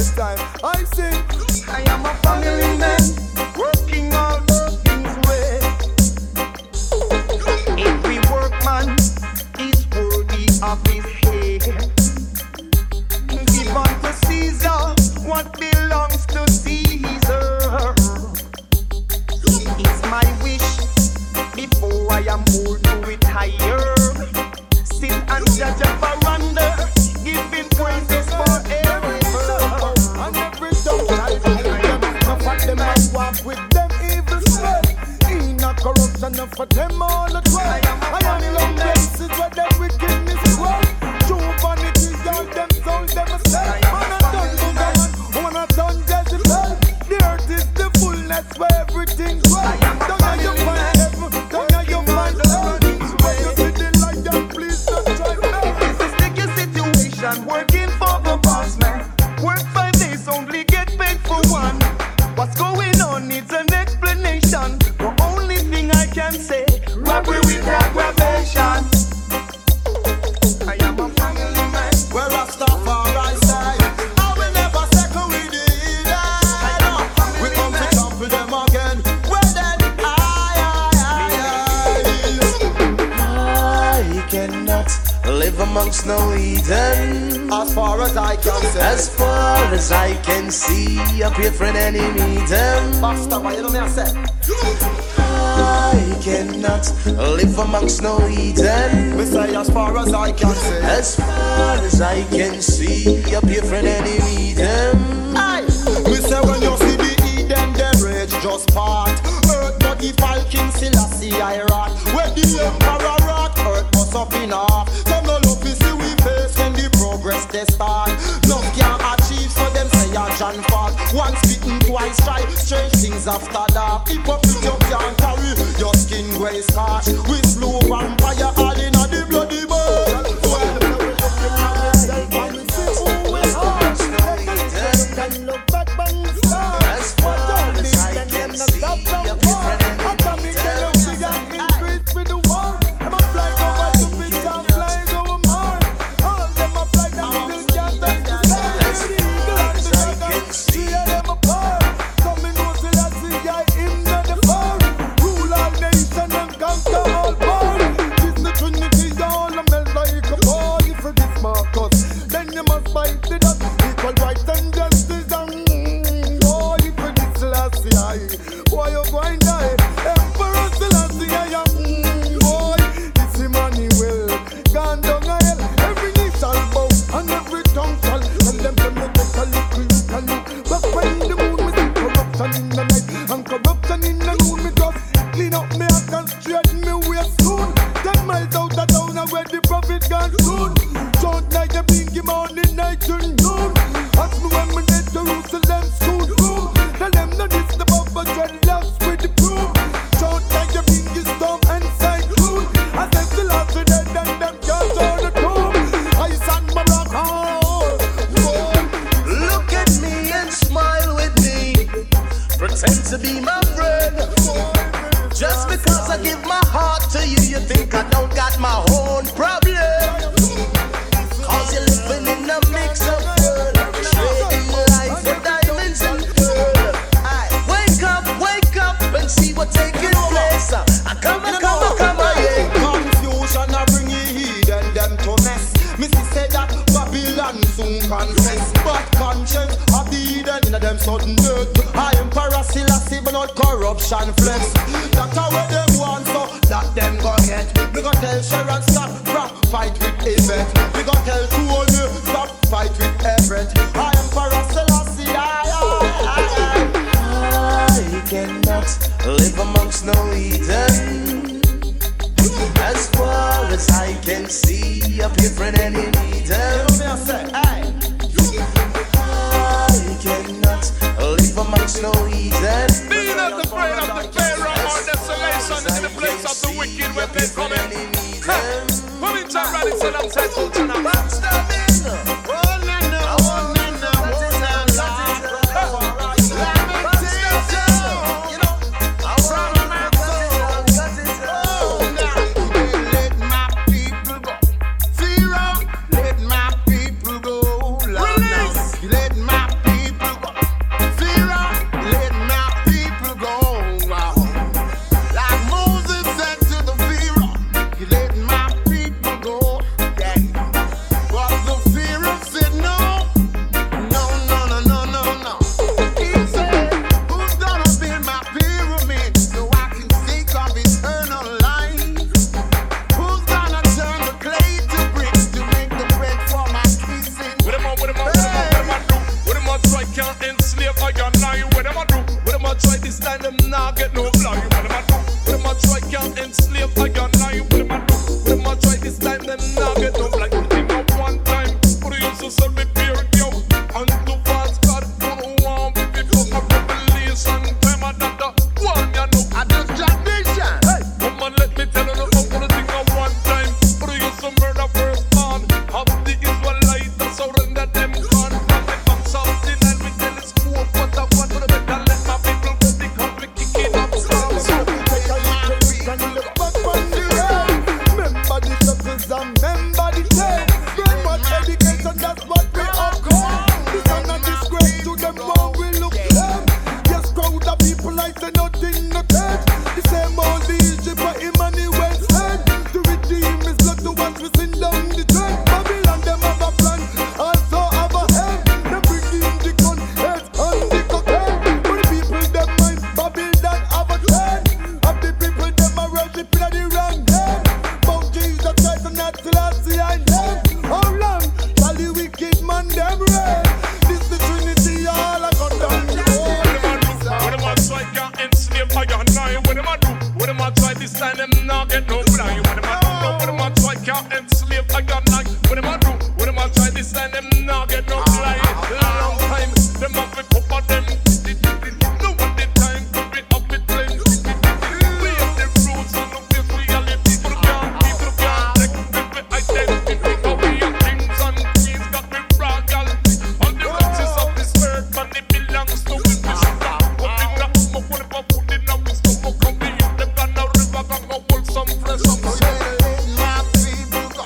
time. I sing. I am a family man, working all things way. Every workman is worthy of his hay. Give unto Caesar what belongs to Caesar. It's my wish before I am old to retire. Sit and judge a veranda, giving praises forever. And every tongue lies with them. Enough of them I walk with them evil spread. In a corruption, enough of them all the time. I am long places where them wickedness spread. True vanity, all them soul them a say. Man a done Bugaman, man a done Jezebel. The earth is the fullness where everything's right. Don't know you find heaven, don't know you find hell. When you see the light, then please don't try me. This is sticky situation, working for the boss man. Work 5 days, only get paid for one. What's going on needs an explanation. The only thing I can say, robbery with aggravation. I am a family man. Where Rastafari side, I will never second with the evil. We come to trample them again. Well then, I cannot live amongst no Eden. As far as I can say, as far as I can see, up here for an enemy them. Basta, you know me I say. I cannot live amongst no Eden. Me say as far as I can say, as far as I can see, up here for an enemy them. Aye, me say when you see the Eden, them rage just part. Earth but the King Selassie I rot. When the emperor rot, earth must up in half. Some no love is see we face when the progress they start. Love can't achieve, so them say a John fault. Once bitten, twice try, strange things after that. Hypocrite you can't carry, your skin gray scarred. With blue vampire all in a the bloody bird. As far as I can see, up here for an enemy them. To be my friend. Just because I give my heart to you, you think I don't got my own problem. Cause you're living in a mix of world, trading life for diamonds and pearl. Wake up and see what's taking place. Come on, yeah. Confusion I bring you hidden them to mess. Missy said that Babylon soon confess. But conscience of the hidden in them sudden death. I am Selassie, but not corruption flex. That's how they want, so that them go get. We gon' tell Sharon stop, fight with Yvette. We gon' tell Tony stop, fight with Everett. I am Selassie, I cannot live amongst no Eden. As far as I can see, up here for an enemy them. I cannot live amongst no Eden. Be not afraid of the Pharaoh or desolation in the place of the wicked when they come in. Come in, John Radisson, I'm settled tonight. not get no blind. What am I do? What am I try? Can't enslave I got night. What am I do? What am I try? This time them not get no blind. Long time, them have to pop on them. No one the time to be up with flames. We have the fruits and the fierce reality. People can't take the identity. How we have kings and queens got me fragile. All the riches of this earth, man, it belongs to we. We should not put in that smoke. What if I put in our stomach? Come we eat them down the river, got no wool, some flesh, some soul. Let my people go.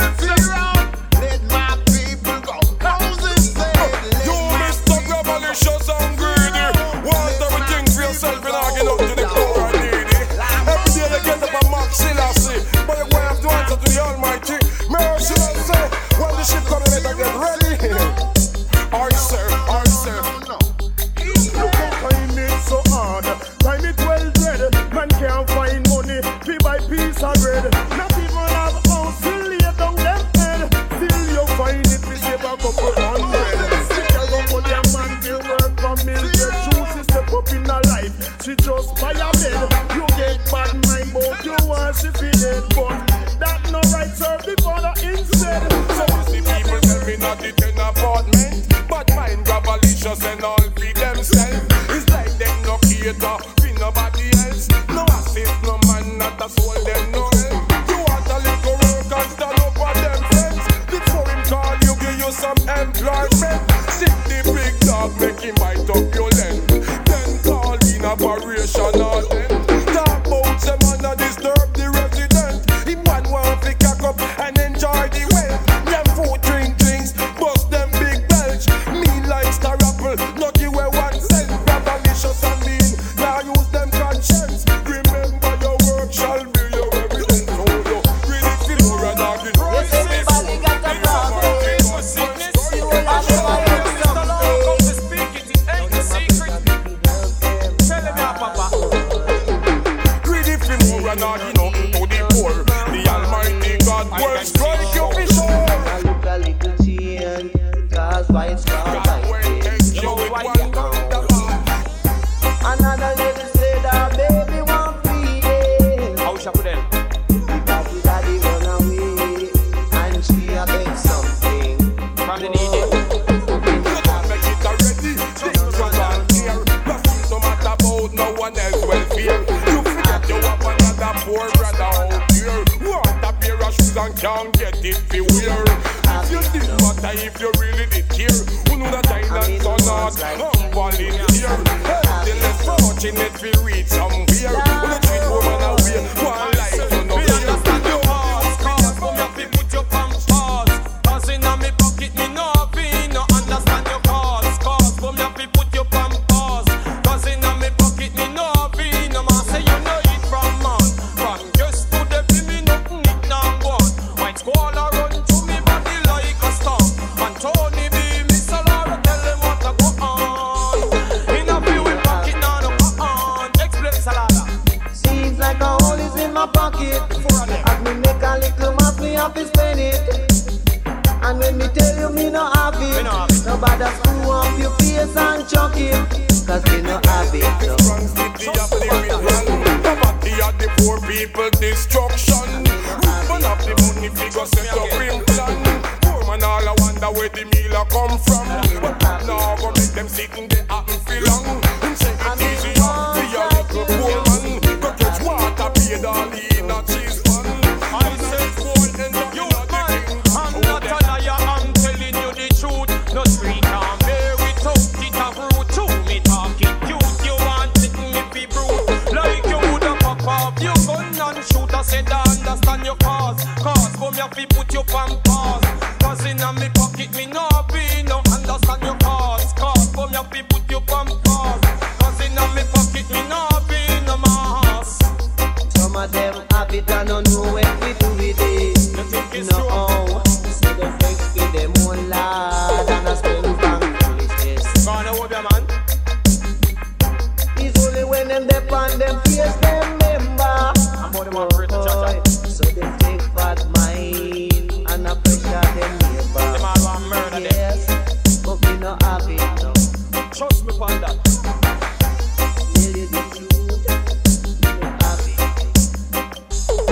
Let my people go. Moses said, You Mr. Grabalicious and greedy. Want everything for yourself and I get up to the poor and needy. Every day they get up and mock Selassie, but you have to answer to the Almighty. Mercy and say, when the ship coming, better get ready. Aye sir, aye sir. Look how time it so hard. Time it well dread. Man can't find money. Fee buy piece of bread. Not even have house to lay down them head. Still you find it to save a couple hundred. Stick around for their man to work for million. Choose step up in her life. She just buy a bed. You get bad mind but you want she feel it. But that no right serve the father instead. So you see people tell me not to turn apartment, but mine Grabalicious and all feed themselves. It's like them no cater for nobody else. No assist, no man, not a soul, them no help. You want a little work and stand up for them friends. Before him call you, give you some employment. Sit the big dog, make him bite up your length. Then call in operation or then talk about them and not disturb the resident. Him one want to cock up and enjoy the wealth. Them food drink drinks, bust them big belch. Me like Star Apple, not you where one cent. Grabalicious and mean, now use them conscience. Remember your work shall be your evidence. So you really feel more and arguing. Yes, everybody got a problem. You will have to find Greedy for more and arguing nothing to the poor. The Almighty God will strike you for sure. I look a little change, cause why it's not like this. Another lady said her baby want feeding. How shall we then? Because daddy run away and she a beg something from the needy. Make it already. This is your land here. Nothing no matter about no one else welfare. You forget you have another poor brother out here. Want a pair of shoes and can't get it for wear. If you did matter, if you really did care, who know that islands or not, I'm volunteer. Help the less fortunate to reach somewhere. When you treat woman away, one life you know. Me understand your heart, cause for me fi put your pants pause. Cause inna me pocket me no fi no understand your cause. Cause for me fi put your pants pause. Cause inna me pocket me no fi no man say you know it from man. From just to the fi me nothing it now gone. White squall a run to me body like a storm. And Tony B, Miss Alara tell them what to go on. Inna fi we pocket now no go on. Explain Salada. Seems like a hole is in my pocket. As me make a little map, me have to spend it. And when me tell you me no have it, nobody screw up your face and chuck it. Cause me no have it. No. Poverty are the poor people destruction. Run up the money figure set up in plan. Poor man all I wonder where the meal a come from. But now go make them sit in the happen feel long. Him say it easy up be a little poor man. Go catch water paid all in a cheese pan. I say cool and you man, I'm not a liar, I'm telling you the truth. No street can bear it out, it a fruit too. Me talking cute, you want it me be brute. Like you woulda pop off your gun and shoot. I said I understand your cause. Cause for me have to put your pan pause. Cause inna me pocket me no be no understand your cause. Cause for me have to put your pan pause. Cause inna me pocket me no be no mass. Some of them have it and don't know what we do with it. No, so them take in them own lad and I spend from foolishness. Gonna hold your man. It's only when them dep on them face them member. I'm on the man for it to cha-cha. So them take bad mind and I pressure them neighbor. Them all want murder them. Yes, but we no have it no. Trust me upon that. Tell you the truth, we no have it.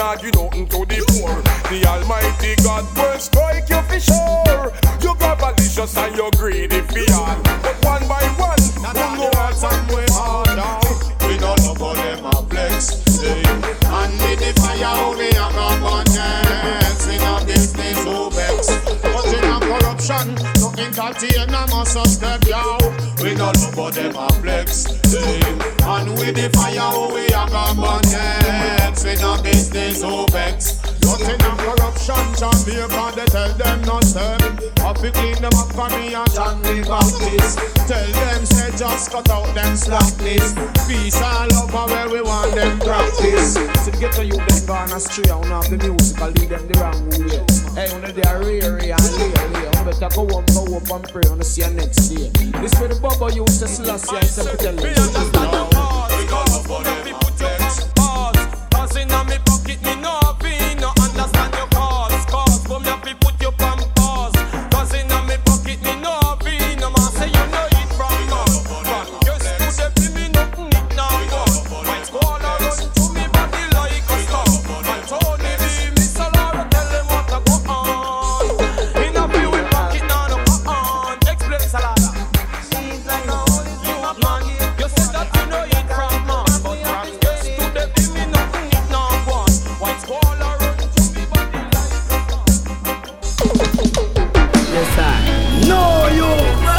not give nothing to the poor. The Almighty God will strike you for sure. You got malicious and you're greedy for all. But one by one, you know what's somewhere hard down. We don't know for them a flex. And with the fire we have abundance. In a business who vex. But in a corruption, no entertainer must step down. We don't know for them a flex. And with the fire we have abundance. In a business who vex. Not in a corruption, Jamaica, they tell them not step. Have to clean them up for me and John the Baptist. Tell them say just cut out them slackness. Peace and love are where we want them practice. So to get to you them gone astray, I have the music, I lead them the wrong way. Hey, when they are reary and leery, I better go up and pray on the see you next day. This way the bubble used to slash you and say tell them. We understand the pause, we got up for them put your pause. Cause in my pocket me no fee, no understand your cause. Cause for me have to put your pump pause. Cause in my pocket me no fee, no man say you know it from us. Just put the me nothing it now go. When squall run to me body like a stop. And Tony B, Miss Laura tell them what to go on. In a few we pocket now no go on. Explain Salada. Seems like no you man. You said that you know it from us. But from yes to the me nothing it now go on. When squall run to me body like a stop. Yes, sir. No, you.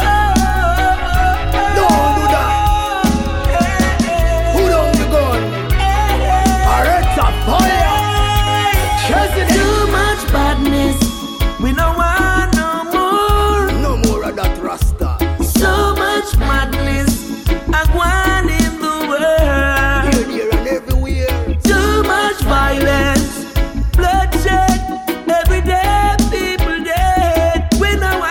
Don't do that. Who don't you gun? Alright, a fire. Too much badness. We don't want no more. No more of that Rasta. So much madness. I want in the world. Here and everywhere. Too much violence. Bloodshed. Every day people dead. We don't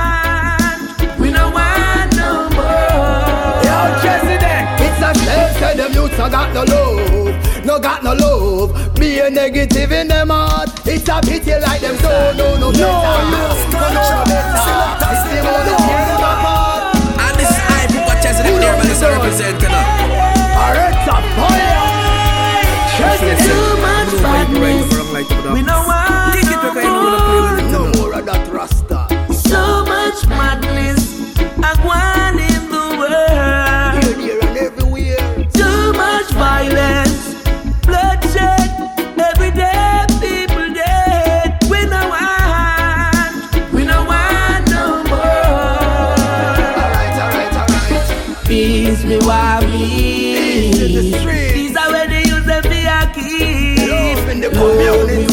want no more. Yo, President, it's a shame say them youths no got no love, no got no love. Be a negative in them heart. It's a pity like them don't know no better. No better. It's the only tear them apart. And this is I put what President there, but it's a represent Alright, a fire. Too much badness. We don't want no more of that Rasta. so much madness. I want in the world. Here and everywhere. Too much violence. Bloodshed. Every day people dead. We don't want no more. Alright. Peace be worry. These are where they use them for your keys. Love in the community.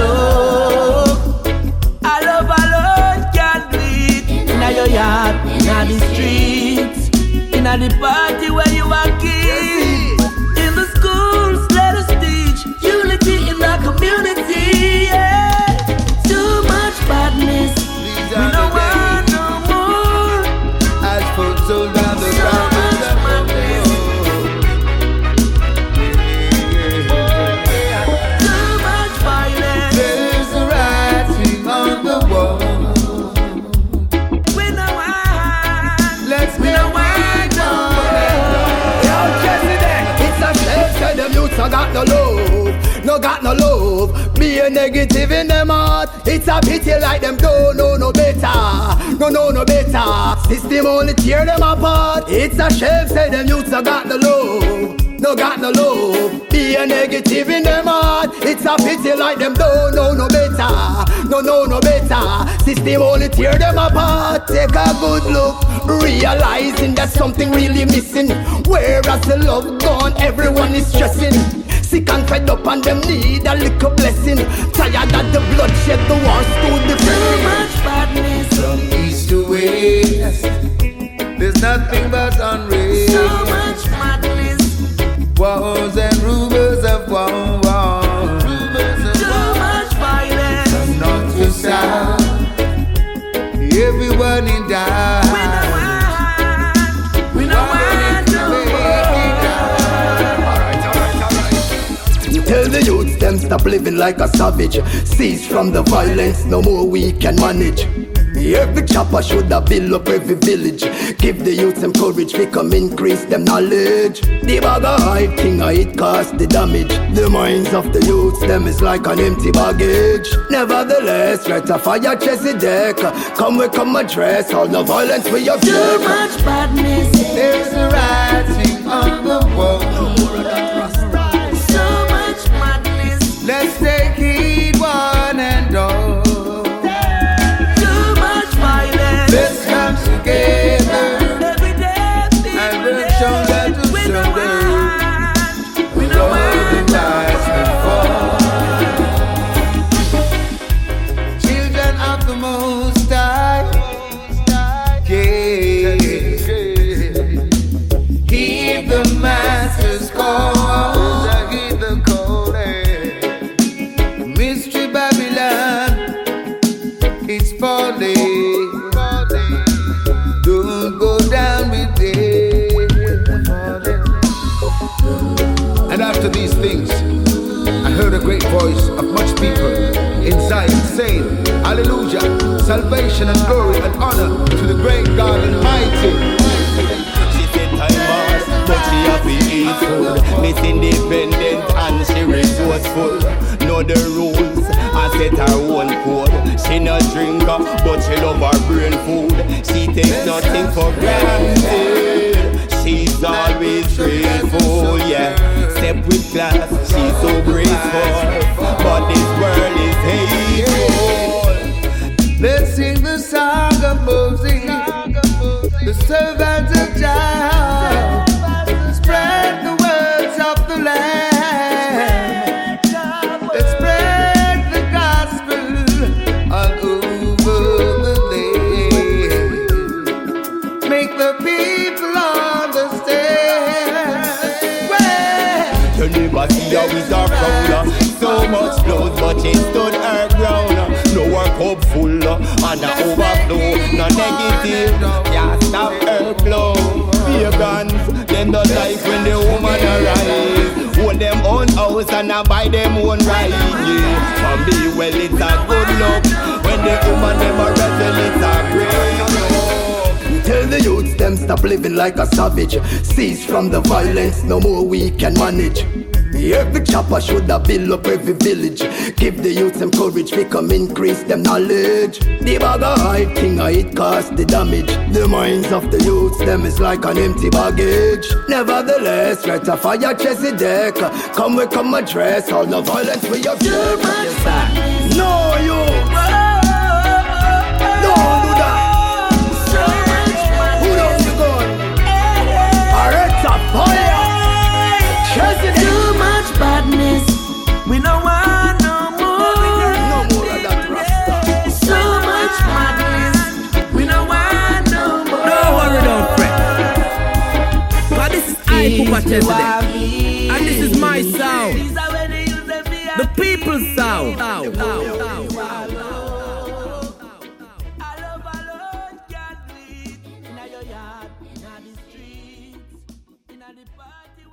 I love alone can't do it. Inna your yard, inna the streets, inna the party where you are kids. In the schools, let us teach unity in the community. Yeah. Too much badness. We don't want no more. As for soul down the ground. No got no love, no got no love. Be a negative in them heart. It's a pity like them don't know no better. No better. System only tear them apart. It's a shame say them youths no got no love, no got no love. Be a negative in them heart. It's a pity like them don't know no better. No better. System only tear them apart. Take a good look, realizing that something really missing. Whereas the love gone, everyone is stressing. Sick and fed up and them need a little blessing. Tired of the bloodshed, the war's too depressing. Too much badness. From east to west, there's nothing but unrest. So much madness. Wars and rumors of war. Too much violence. From north to south, everyone in doubt. We don't want no more. Tell the youths them stop living like a savage. Cease from the violence, no more we can manage. Every chopper should have build up every village. Give the youth some courage, we come increase them knowledge. The bag of hype thing, it cost the damage. The minds of the youths, them is like an empty baggage. Nevertheless, right to fire chassis deck. Come we come address all the violence we have. Too much badness. There's a writing on the wall. So much madness. Let's take it one and all. Let's come together and we'll shoulder to shoulder with all the rise and fall. Children of the Most High, yeah. Heed the Master's call, heed the call. Mystery Babylon, it's falling. And after these things, I heard a great voice of much people inside saying, Hallelujah, salvation and glory and honor to the great God Almighty. She said time pass, but she happy eat food. Miss independent and she resourceful. Know the rules and set her own code. She not drinker, but she love her brain food. She takes nothing for granted. She's always grateful, yeah. Step with class, she's so graceful. But this world is hateful. Let's sing the song of Moses, the servant of Jah. Spread the words of the land. Let's spread the gospel all over the land. Make the people you never see her with her crown. So much blood, but she stood her ground. No her cup full and a overflow. No negative, can't stop her flow. Pagans, them don't like when the woman arise. Own them own house and I buy them own ride. Yeah, for me, well, it's a good luck. When the woman them a wrestle, it's a great luck. Tell the youths them stop living like a savage. Cease from the violence, no more we can manage. Every chopper should have build up every village. Give the youths some courage, we come increase them knowledge. The bag of hype thing, it cost the damage. The minds of the youths, them is like an empty baggage. Nevertheless, right to fire chassis deck. Come we come address all the violence we have. No you. Don't do that. Fire! Too much badness, we don't want no more. No more of that Rasta. So much madness, we don't want no more. Don't worry, don't fret. But this is I, Pupa Chesedek. And this is my sound. The people's sound. Party